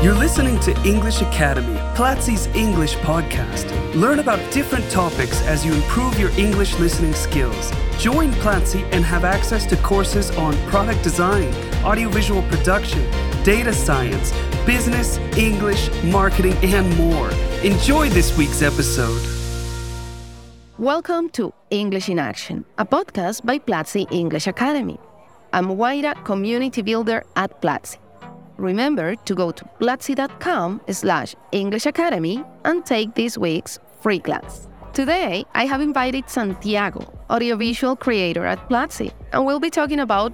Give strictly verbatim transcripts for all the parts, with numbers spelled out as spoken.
You're listening to English Academy, Platzi's English podcast. Learn about different topics as you improve your English listening skills. Join Platzi and have access to courses on product design, audiovisual production, data science, business, English, marketing, and more. Enjoy this week's episode. Welcome to English in Action, a podcast by Platzi English Academy. I'm Waira, community builder at Platzi. Remember to go to platzi.com slash English Academy and take this week's free class. Today, I have invited Santiago, audiovisual creator at Platzi, and we'll be talking about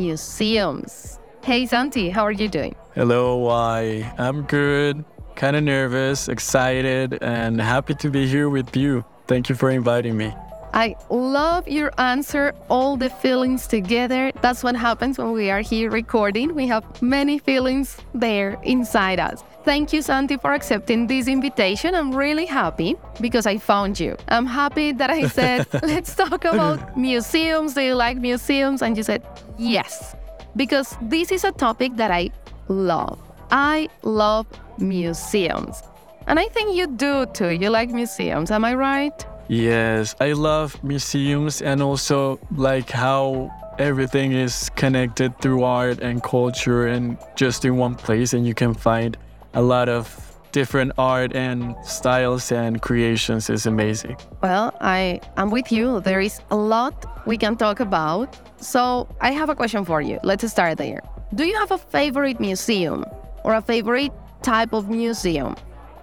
museums. Hey, Santi, how are you doing? Hello, Wai. I'm good, kind of nervous, excited, and happy to be here with you. Thank you for inviting me. I love your answer, all the feelings together. That's what happens when we are here recording. We have many feelings there inside us. Thank you, Santi, for accepting this invitation. I'm really happy because I found you. I'm happy that I said, let's talk about museums. Do you like museums? And you said, yes, because this is a topic that I love. I love museums. And I think you do too. You like museums. Am I right? Yes, I love museums and also like how everything is connected through art and culture and just in one place, and you can find a lot of different art and styles and creations. Is amazing. Well, I am with you. There is a lot we can talk about. So I have a question for you. Let's start there. Do you have a favorite museum or a favorite type of museum?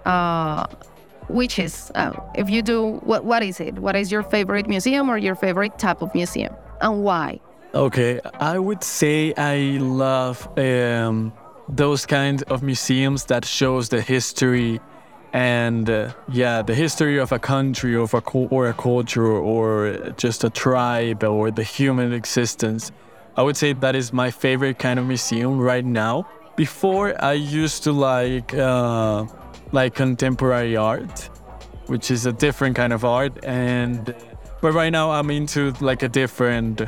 Uh, which is, uh, if you do, what what is it? What is your favorite museum or your favorite type of museum? And why? Okay, I would say I love um, those kinds of museums that shows the history and, uh, yeah, the history of a country or, a, or a culture or just a tribe or the human existence. I would say that is my favorite kind of museum right now. Before, I used to like... Uh, like contemporary art, which is a different kind of art, and but right now I'm into like a different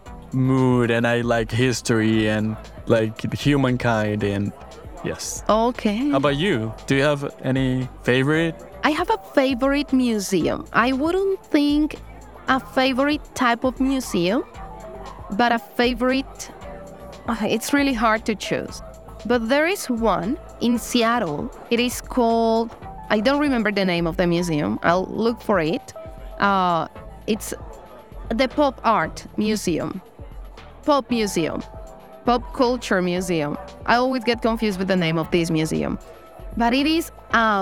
mood, and I like history and like humankind, and yes. Okay. How about you? Do you have any favorite? I have a favorite museum. I wouldn't think a favorite type of museum, but a favorite, it's really hard to choose. But there is one in Seattle. It is called, I don't remember the name of the museum. I'll look for it. Uh, it's the Pop Art Museum. Pop Museum. Pop Culture Museum. I always get confused with the name of this museum. But it is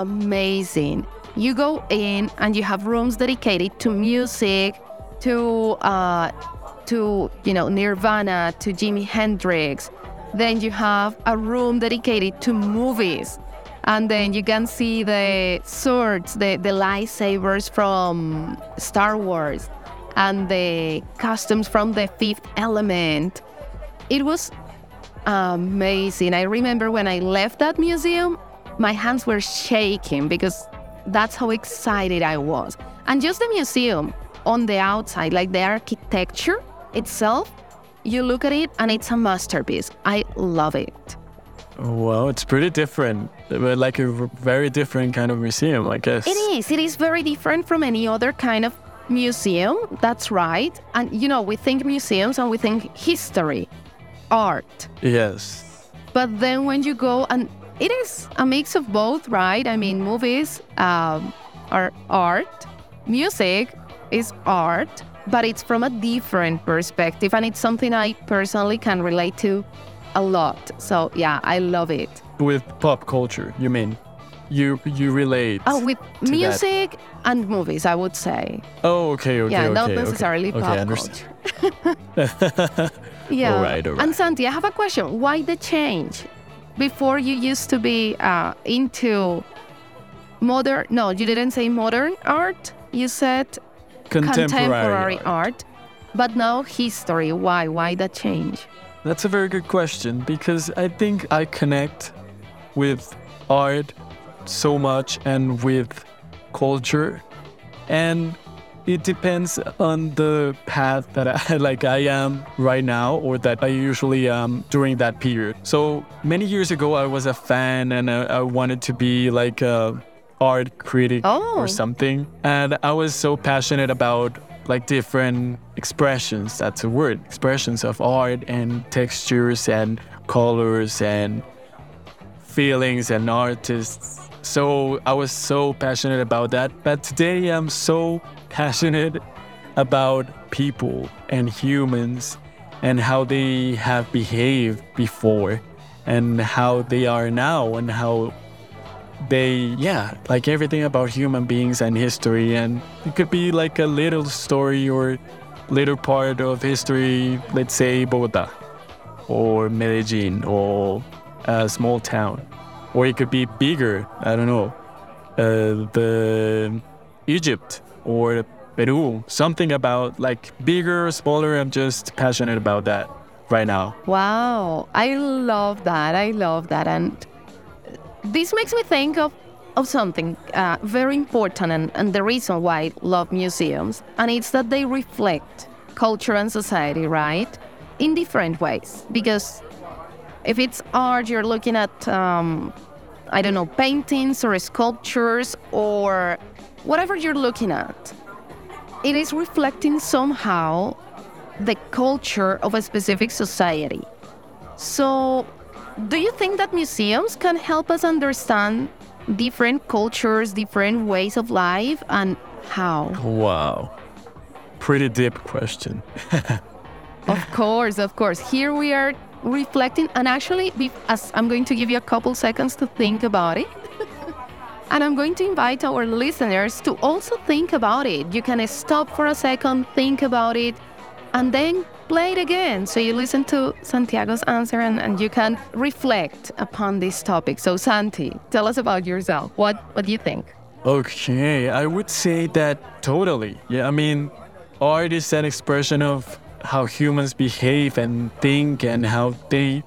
amazing. You go in and you have rooms dedicated to music, to, uh, to you know, Nirvana, to Jimi Hendrix. Then you have a room dedicated to movies. And then you can see the swords, the, the lightsabers from Star Wars, and the costumes from The Fifth Element. It was amazing. I remember when I left that museum, my hands were shaking because that's how excited I was. And just the museum on the outside, like the architecture itself, you look at it and it's a masterpiece. I love it. Well, it's pretty different, like a very different kind of museum, I guess. It is. It is very different from any other kind of museum. That's right. And, you know, we think museums and we think history, art. Yes. But then when you go, and it is a mix of both, right? I mean, movies um, are art, music is art, but it's from a different perspective, and it's something I personally can relate to a lot. So yeah, I love it. With pop culture, you mean? You you relate? Oh, with music that. And movies, I would say. Oh, okay, okay, yeah, okay. not necessarily okay. pop okay, I understand. culture. Yeah. All right, all right. And Santi, I have a question. Why the change? Before you used to be uh, into modern. No, you didn't say modern art. You said. Contemporary, contemporary art. art. But now history. Why? Why that change? That's a very good question, because I think I connect with art so much and with culture. And it depends on the path that I, like I am right now, or that I usually am during that period. So many years ago, I was a fan, and I, I wanted to be like a art critic Oh. or something. And I was so passionate about like different expressions, that's a word, expressions of art and textures and colors and feelings and artists. So I was so passionate about that. But today I'm so passionate about people and humans and how they have behaved before and how they are now and how they, yeah, like everything about human beings and history. And it could be like a little story or little part of history, let's say Bogota or Medellin or a small town. Or it could be bigger, I don't know, uh, the Egypt or Peru, something about like bigger or smaller. I'm just passionate about that right now. Wow, I love that. I love that. And this makes me think of, of something uh, very important and, and the reason why I love museums. And it's that they reflect culture and society, right? In different ways. Because if it's art, you're looking at, um, I don't know, paintings or sculptures or whatever you're looking at. It is reflecting somehow the culture of a specific society. So, do you think that museums can help us understand different cultures, different ways of life, and how? Wow. Pretty deep question. Of course, of course. Here we are reflecting, and actually, be- as I'm going to give you a couple seconds to think about it. And I'm going to invite our listeners to also think about it. You can stop for a second, think about it, and then play it again. So you listen to Santiago's answer and, and you can reflect upon this topic. So Santi, tell us about yourself. What what do you think? Okay, I would say that totally. Yeah, I mean, art is an expression of how humans behave and think and how they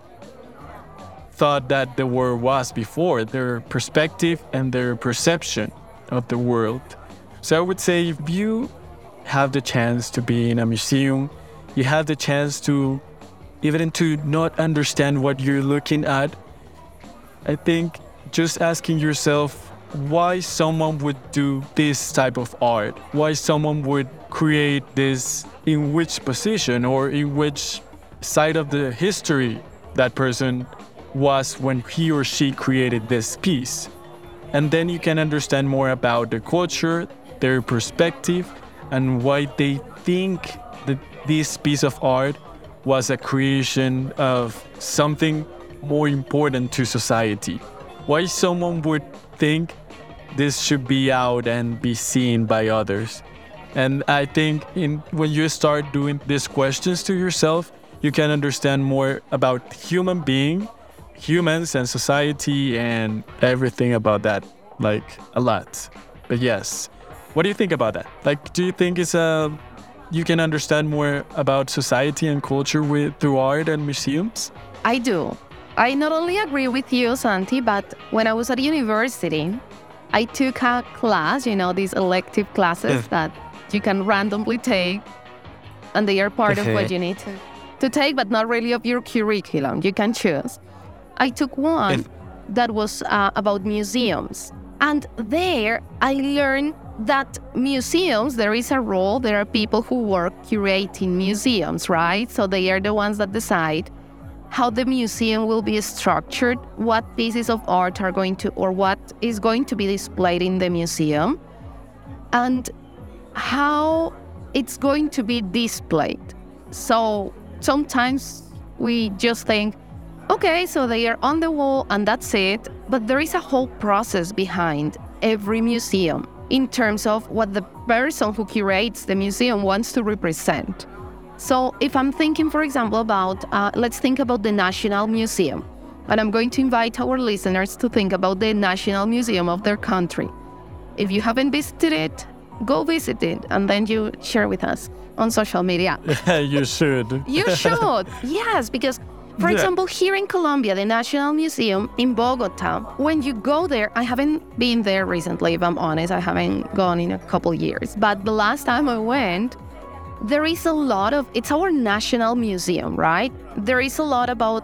thought that the world was before, their perspective and their perception of the world. So I would say if you have the chance to be in a museum, you have the chance to even to not understand what you're looking at. I think just asking yourself why someone would do this type of art, why someone would create this, in which position or in which side of the history that person was when he or she created this piece. And then you can understand more about their culture, their perspective, and why they think that this piece of art was a creation of something more important to society. Why someone would think this should be out and be seen by others. And I think in when you start doing these questions to yourself, you can understand more about human being, humans and society and everything about that, like a lot. But yes, what do you think about that? Like, do you think it's a you can understand more about society and culture with through art and museums? I do. I not only agree with you, Santi, but when I was at university, I took a class, you know, these elective classes that you can randomly take, and they are part of what you need to, to take, but not really of your curriculum. You can choose. I took one that was uh, about museums. And there I learned that museums, there is a role, there are people who work curating museums, right? So they are the ones that decide how the museum will be structured, what pieces of art are going to, or what is going to be displayed in the museum, and how it's going to be displayed. So sometimes we just think, okay, so they are on the wall and that's it, but there is a whole process behind every museum in terms of what the person who curates the museum wants to represent. So if I'm thinking, for example, about, uh, let's think about the National Museum, and I'm going to invite our listeners to think about the National Museum of their country. If you haven't visited it, go visit it, and then you share with us on social media. You should. You should, yes, because For Yeah. example, here in Colombia, the National Museum in Bogota, when you go there, I haven't been there recently, if I'm honest. I haven't gone in a couple years. But the last time I went, there is a lot of, it's our national museum, right? There is a lot about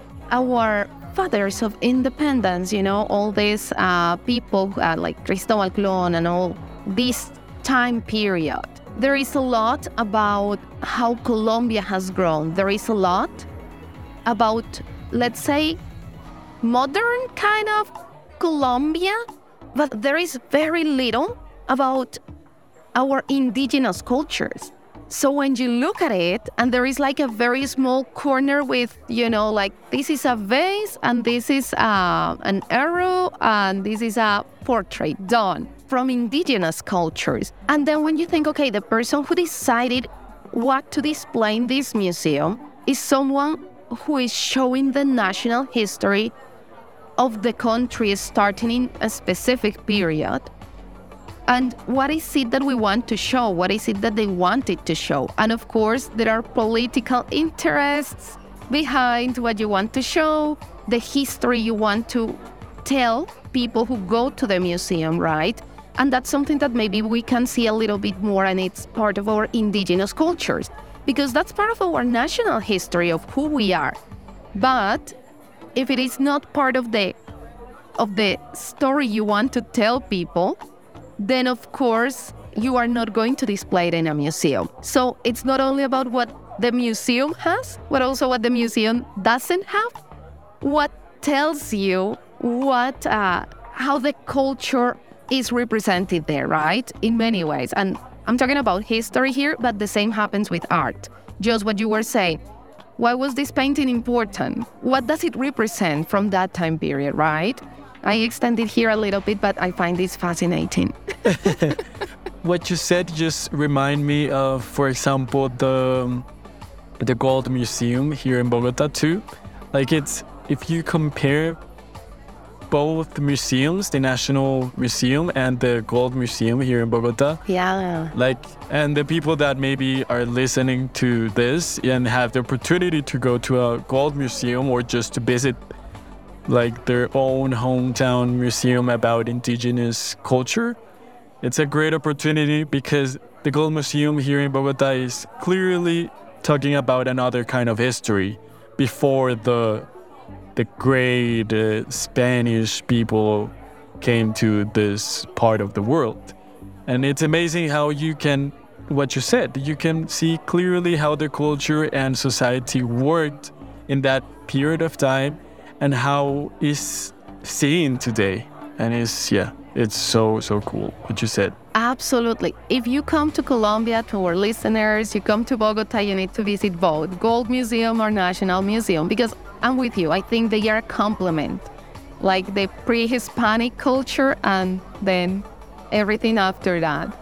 our fathers of independence, you know, all these uh, people uh, like Cristobal Colón and all this time period. There is a lot about how Colombia has grown. There is a lot about, let's say, modern kind of Colombia, but there is very little about our indigenous cultures. So when you look at it, and there is like a very small corner with, you know, like this is a vase, and this is uh, an arrow, and this is a portrait done from indigenous cultures. And then when you think, okay, the person who decided what to display in this museum is someone who is showing the national history of the country starting in a specific period. And what is it that we want to show? What is it that they wanted to show? And of course, there are political interests behind what you want to show, the history you want to tell people who go to the museum, right? And that's something that maybe we can see a little bit more, and it's part of our indigenous cultures, because that's part of our national history of who we are. But if it is not part of the of the story you want to tell people, then of course you are not going to display it in a museum. So it's not only about what the museum has, but also what the museum doesn't have. What tells you what uh, how the culture is represented there, right? In many ways. And I'm talking about history here, but the same happens with art. Just what you were saying. Why was this painting important? What does it represent from that time period, right? I extended here a little bit, but I find this fascinating. What you said just remind me of, for example, the the Gold Museum here in Bogota too. Like it's, if you compare both museums, the National Museum and the Gold Museum here in Bogota. Yeah. Like, and the people that maybe are listening to this and have the opportunity to go to a Gold Museum or just to visit like their own hometown museum about indigenous culture, it's a great opportunity because the Gold Museum here in Bogota is clearly talking about another kind of history before the the great uh, Spanish people came to this part of the world. And it's amazing how you can, what you said, you can see clearly how the culture and society worked in that period of time and how it's seen today. And it's, yeah, it's so, so cool what you said. Absolutely. If you come to Colombia, to our listeners, you come to Bogota, you need to visit both Gold Museum or National Museum, because I'm with you. I think they are a complement, like the pre-Hispanic culture and then everything after that.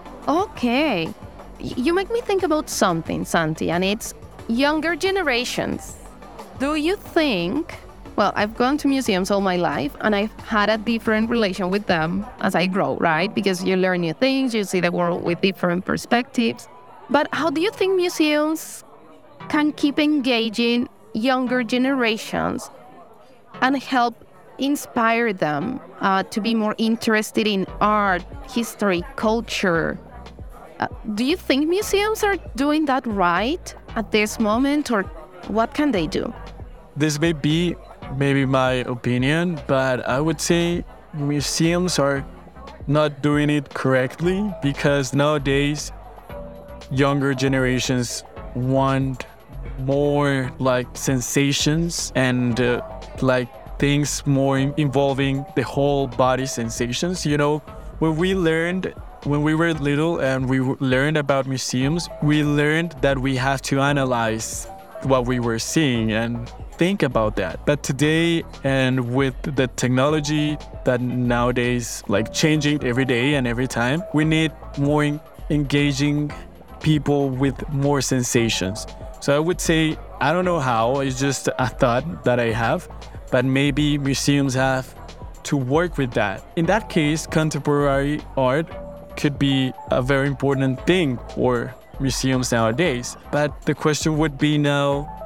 Okay. You make me think about something, Santi, and it's younger generations. Do you think, well, I've gone to museums all my life and I've had a different relation with them as I grow, right? Because you learn new things, you see the world with different perspectives. But how do you think museums can keep engaging younger generations and help inspire them uh, to be more interested in art, history, culture? Uh, do you think museums are doing that right at this moment, or what can they do? This may be maybe my opinion, but I would say museums are not doing it correctly because nowadays younger generations want more like sensations and uh, like things more in- involving the whole body sensations. You know, when we learned, when we were little and we w- learned about museums, we learned that we have to analyze what we were seeing and think about that. But today, and with the technology that nowadays like changing every day and every time, we need more en- engaging people with more sensations. So I would say, I don't know how, it's just a thought that I have, but maybe museums have to work with that. In that case, contemporary art could be a very important thing for museums nowadays. But the question would be now,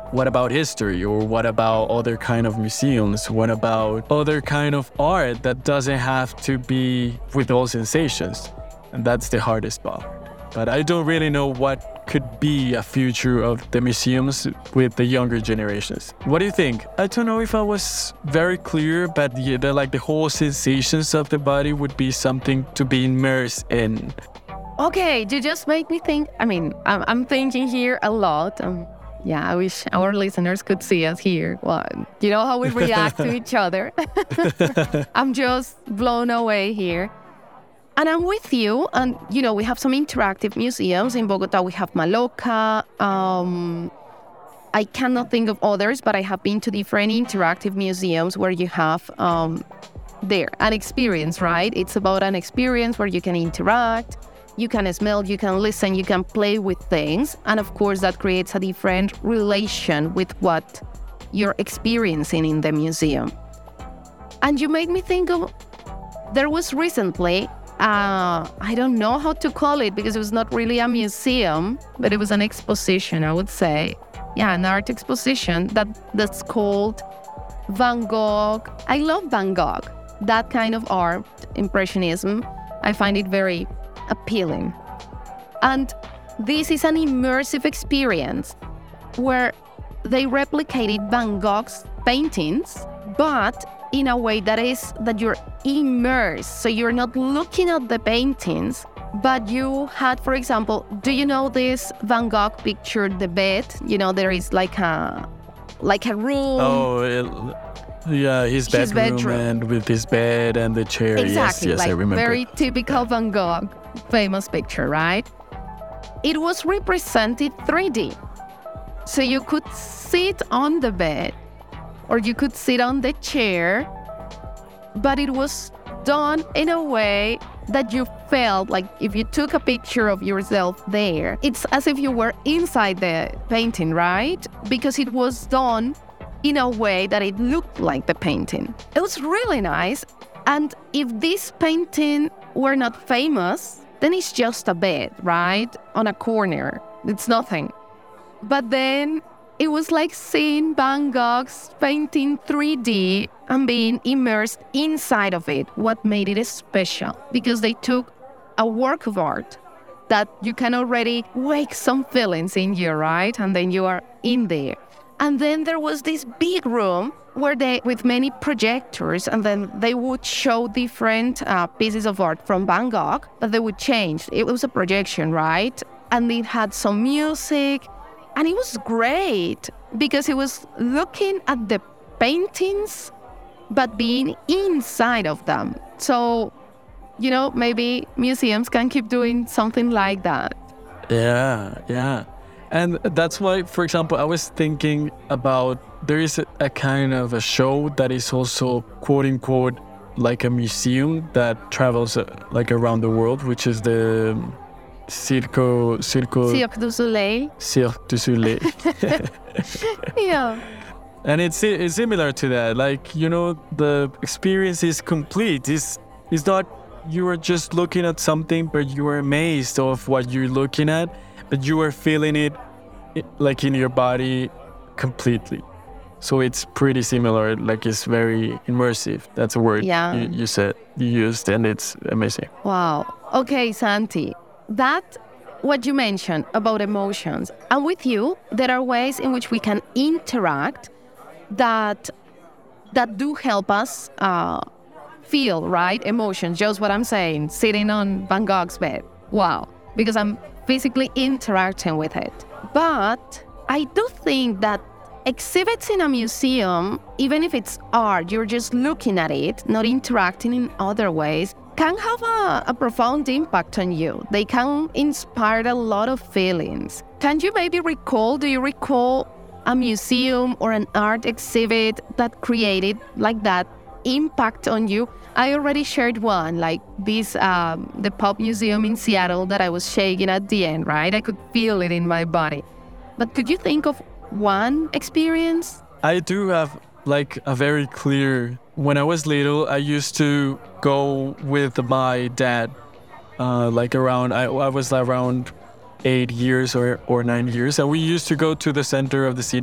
what about history, or what about other kind of museums? What about other kind of art that doesn't have to be with all sensations? And that's the hardest part. But I don't really know what could be a future of the museums with the younger generations. What do you think? I don't know if I was very clear, but the, the like the whole sensations of the body would be something to be immersed in. Okay, you just make me think. I mean, I'm, I'm thinking here a lot. Um, yeah, I wish our listeners could see us here. Well, you know how we react to each other. I'm just blown away here. And I'm with you. And, you know, we have some interactive museums. In Bogota, we have Maloca. Um, I cannot think of others, but I have been to different interactive museums where you have um, there an experience, right? It's about an experience where you can interact, you can smell, you can listen, you can play with things. And of course, that creates a different relation with what you're experiencing in the museum. And you made me think of, there was recently, Uh, I don't know how to call it because it was not really a museum, but it was an exposition, I would say. Yeah, an art exposition that, that's called Van Gogh. I love Van Gogh. That kind of art, Impressionism, I find it very appealing. And this is an immersive experience where they replicated Van Gogh's paintings, but in a way that is that you're immersed. So you're not looking at the paintings, but you had, for example, do you know this Van Gogh picture, The Bed? You know, there is like a like a room. Oh, it, yeah, his bedroom, bedroom and with his bed and the chair. Exactly, yes, yes, like I remember. Very typical Van Gogh, famous picture, right? It was represented three D. So you could sit on the bed, or you could sit on the chair, but it was done in a way that you felt like if you took a picture of yourself there, it's as if you were inside the painting, right? Because it was done in a way that it looked like the painting. It was really nice. And if this painting were not famous, then it's just a bed, right? On a corner. It's nothing. But then it was like seeing Van Gogh's painting three D and being immersed inside of it. What made it special? Because they took a work of art that you can already wake some feelings in you, right? And then you are in there. And then there was this big room where they, with many projectors, and then they would show different uh, pieces of art from Van Gogh, but they would change. It was a projection, right? And it had some music. And it was great because it was looking at the paintings, but being inside of them. So, you know, maybe museums can keep doing something like that. Yeah, yeah. And that's why, for example, I was thinking about, there is a, a kind of a show that is also, quote unquote, like a museum that travels uh, like around the world, which is the Circo, Circo... Cirque du Soleil. Cirque du Soleil. Yeah. And it's it's similar to that. Like, you know, the experience is complete. It's, it's not you are just looking at something, but you are amazed of what you're looking at, but you are feeling it like in your body completely. So it's pretty similar. Like, it's very immersive. That's a word yeah. you, you said, you used, and it's amazing. Wow. Okay, Santi. That, what you mentioned about emotions, and with you, there are ways in which we can interact that that do help us uh, feel, right? Emotions, just what I'm saying, sitting on Van Gogh's bed. Wow, because I'm physically interacting with it. But I do think that exhibits in a museum, even if it's art, you're just looking at it, not interacting in other ways, can have a, a profound impact on you. They can inspire a lot of feelings. Can you maybe recall, do you recall a museum or an art exhibit that created like that impact on you? I already shared one, like this, um, the Pop Museum in Seattle that I was shaking at the end, right? I could feel it in my body. But could you think of one experience? I do have like a very clear, when I was little, I used to go with my dad, uh, like around, I, I was around eight years or, or nine years. And we used to go to the center of the city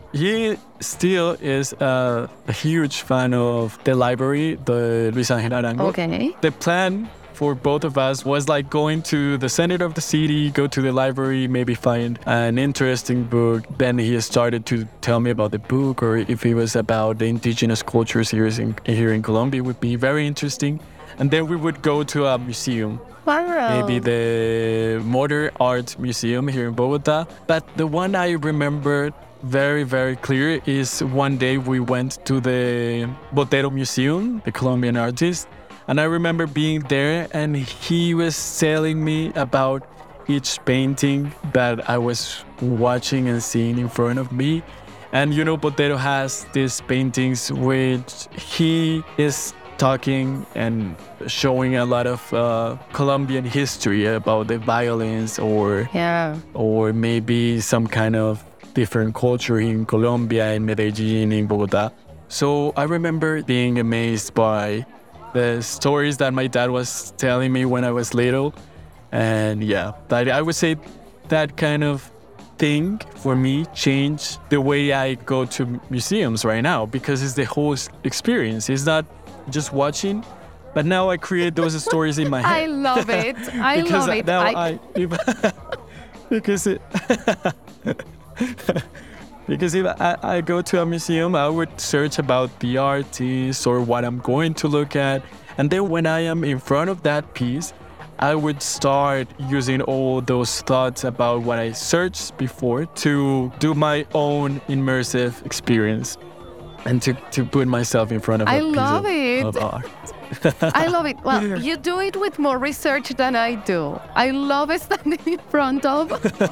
he still is a, a huge fan of the library, the Luis Ángel Arango. Okay. The plan for both of us was like going to the center of the city, go to the library, maybe find an interesting book. Then he started to tell me about the book, or if it was about the indigenous cultures here in, here in Colombia, it would be very interesting. And then we would go to a museum. Wow. Maybe the Modern Art Museum here in Bogota. But the one I remember very, very clear is one day we went to the Botero Museum, the Colombian artist. And I remember being there and he was telling me about each painting that I was watching and seeing in front of me. And you know, Botero has these paintings which he is talking and showing a lot of uh, Colombian history about the violence or Yeah. or maybe some kind of different culture in Colombia, in Medellin, in Bogota. So I remember being amazed by the stories that my dad was telling me when I was little. And yeah, that, I would say that kind of thing for me changed the way I go to museums right now, because it's the whole experience. It's not just watching, but now I create those stories in my head. I love it. I because love it. now I, I, if, because it because if I, I go to a museum, I would search about the artist or what I'm going to look at, and then when I am in front of that piece, I would start using all those thoughts about what I searched before to do my own immersive experience and to, to put myself in front of I a piece love of, it. of art. I love it. Well, you do it with more research than I do. I love standing in front of,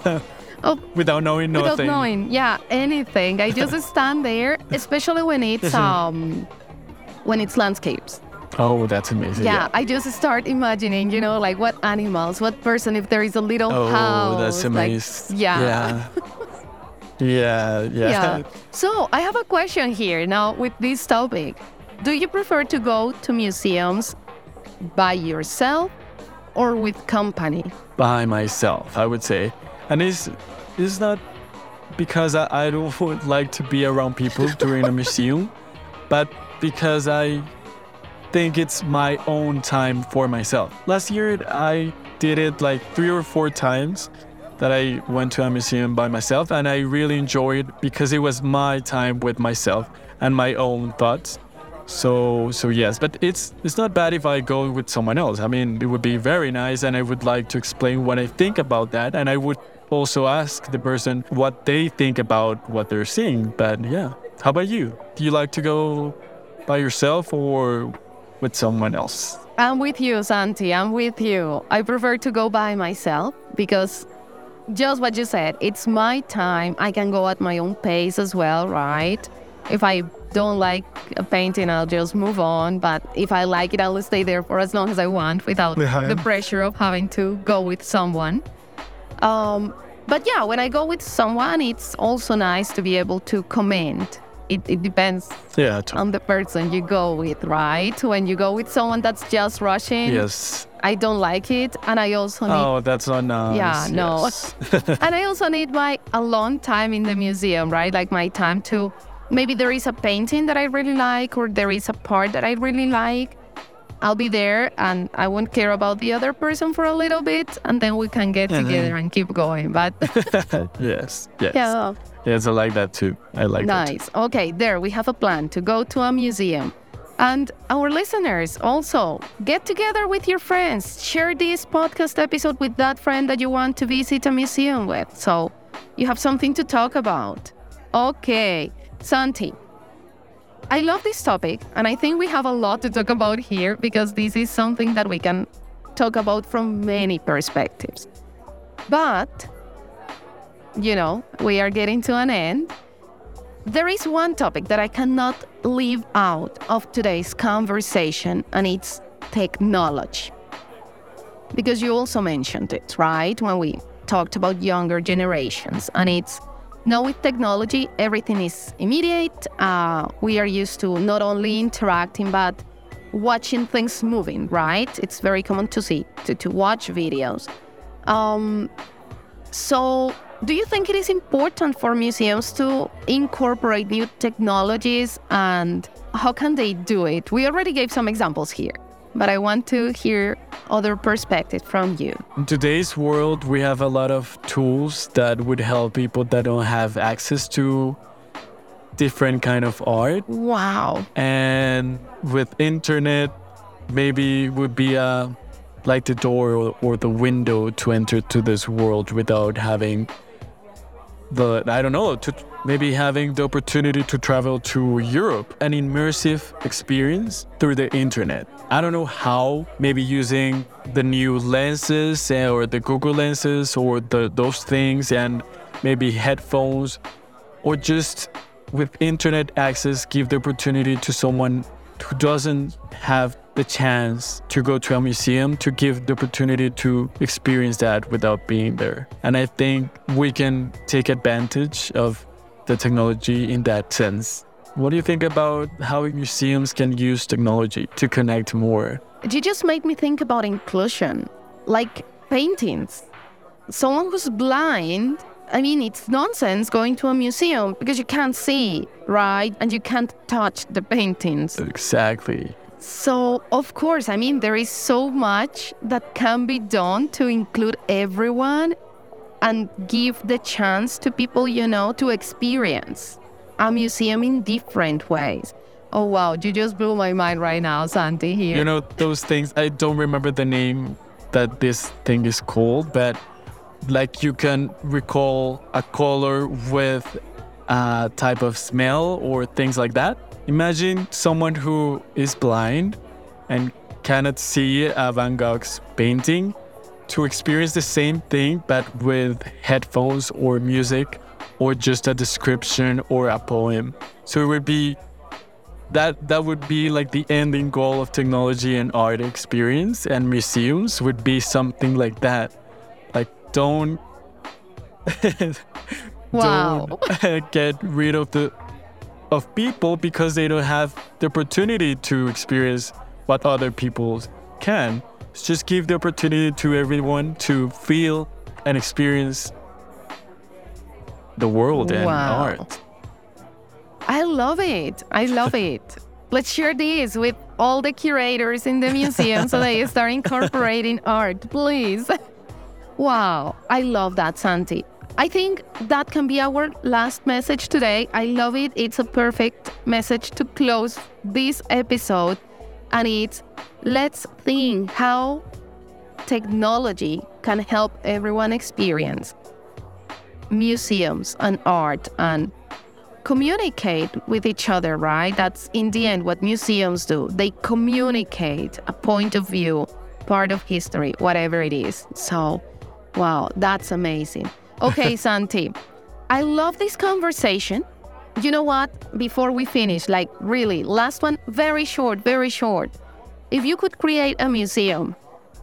of Without knowing without nothing. knowing, yeah, anything. I just stand there, especially when it's um, when it's landscapes. Oh, that's amazing. Yeah, I just start imagining, you know, like what animals, what person, if there is a little Oh, house. that's like, amazing. yeah. Yeah. yeah, yeah. Yeah. So I have a question here now with this topic. Do you prefer to go to museums by yourself or with company? By myself, I would say. And it's, it's not because I, I don't would like to be around people during a museum, but because I think it's my own time for myself. Last year, I did it like three or four times that I went to a museum by myself, and I really enjoyed it because it was my time with myself and my own thoughts. So, so yes, but it's it's not bad if I go with someone else. I mean, it would be very nice, and I would like to explain what I think about that, and I would also ask the person what they think about what they're seeing. But yeah, how about you? Do you like to go by yourself or with someone else? I'm with you, Santi. I'm with you. I prefer to go by myself because just what you said, it's my time. I can go at my own pace as well, right? If I don't like a painting, I'll just move on. But if I like it, I'll stay there for as long as I want without Yeah. the pressure of having to go with someone. Um, but yeah, when I go with someone, it's also nice to be able to comment. It, it depends Yeah. To- on the person you go with, right? When you go with someone that's just rushing, yes. I don't like it. And I also need, Oh, that's not nice. Yeah, no. Yes. and I also need my alone time in the museum, right? Like my time to, maybe there is a painting that I really like, or there is a part that I really like. I'll be there and I won't care about the other person for a little bit, and then we can get Mhm. together and keep going. But yes. Yes. yeah, Yes, I like that too. I like that. nice. Okay, there we have a plan to go to a museum. And our listeners also, get together with your friends. Share this podcast episode with that friend that you want to visit a museum with, so you have something to talk about. Okay, Santi, I love this topic, and I think we have a lot to talk about here because this is something that we can talk about from many perspectives. But, you know, we are getting to an end. There is one topic that I cannot leave out of today's conversation, and it's technology. Because you also mentioned it, right? When we talked about younger generations, and it's now with technology, everything is immediate. Uh, we are used to not only interacting, but watching things moving, right? It's very common to see, to, to watch videos. Um, so Do you think it is important for museums to incorporate new technologies, and how can they do it? We already gave some examples here, but I want to hear other perspectives from you. In today's world, we have a lot of tools that would help people that don't have access to different kind of art. Wow. And with internet, maybe would be a like the door or, or the window to enter to this world without having the, I don't know, to maybe having the opportunity to travel to Europe, an immersive experience through the internet. I don't know how, maybe using the new lenses or the Google lenses or the, those things, and maybe headphones, or just with internet access, give the opportunity to someone who doesn't have the chance to go to a museum, to give the opportunity to experience that without being there. And I think we can take advantage of the technology in that sense. What do you think about how museums can use technology to connect more? You just made me think about inclusion, like paintings. Someone who's blind, I mean, it's nonsense going to a museum because you can't see, right? And you can't touch the paintings. Exactly. So, of course, I mean, there is so much that can be done to include everyone and give the chance to people, you know, to experience a museum in different ways. Oh, wow, you just blew my mind right now, Santi, here. You know, those things, I don't remember the name that this thing is called, but like you can recall a color with a type of smell or things like that. Imagine someone who is blind and cannot see a Van Gogh's painting to experience the same thing, but with headphones or music or just a description or a poem. So it would be that that would be like the ending goal of technology and art experience, and museums would be something like that. Like don't wow. don't get rid of the of people because they don't have the opportunity to experience what other people can. Just give the opportunity to everyone to feel and experience the world and wow. art. I love it. I love it. Let's share this with all the curators in the museum so they start incorporating art, please. Wow. I love that, Santi. I think that can be our last message today. I love it. It's a perfect message to close this episode. And it's, let's think how technology can help everyone experience museums and art and communicate with each other, right? That's in the end what museums do. They communicate a point of view, part of history, whatever it is. So, wow, that's amazing. Okay, Santi, I love this conversation. You know what? Before we finish, like really, last one, very short, very short. If you could create a museum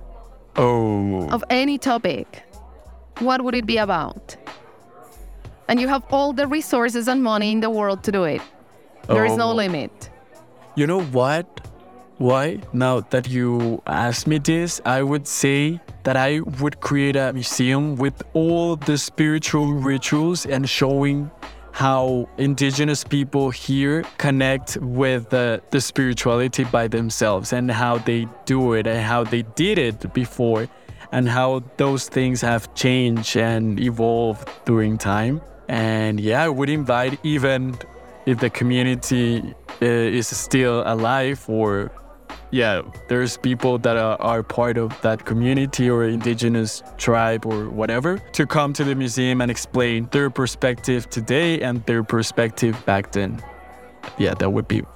oh. of any topic, what would it be about? And you have all the resources and money in the world to do it. There oh. is no limit. You know what? Why? Now that you asked me this, I would say that I would create a museum with all the spiritual rituals and showing how indigenous people here connect with the, the spirituality by themselves and how they do it and how they did it before and how those things have changed and evolved during time. And yeah, I would invite, even if the community uh, is still alive, or yeah, there's people that are, are part of that community or indigenous tribe or whatever, to come to the museum and explain their perspective today and their perspective back then. Yeah, that would be.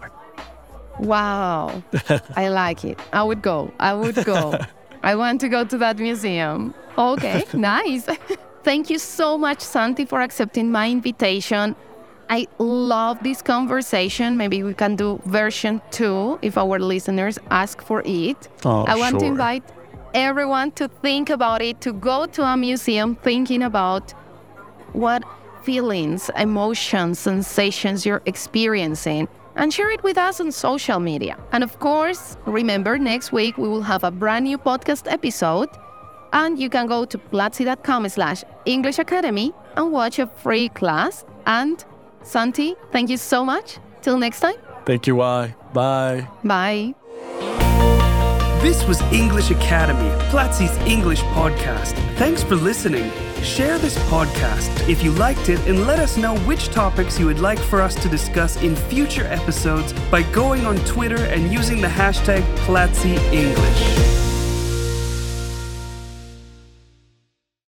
Wow. I like it. I would go. I would go. I want to go to that museum. Okay, nice. Thank you so much, Santi, for accepting my invitation. I love this conversation. Maybe we can do version two if our listeners ask for it. Oh, I want sure. to invite everyone to think about it, to go to a museum thinking about what feelings, emotions, sensations you're experiencing, and share it with us on social media. And of course, remember, next week we will have a brand new podcast episode, and you can go to platzi dot com slash English Academy and watch a free class. And Santi, thank you so much. Till next time. Thank you, I. Bye. Bye. This was English Academy, Platzi's English podcast. Thanks for listening. Share this podcast if you liked it and let us know which topics you would like for us to discuss in future episodes by going on Twitter and using the hashtag Platzi English.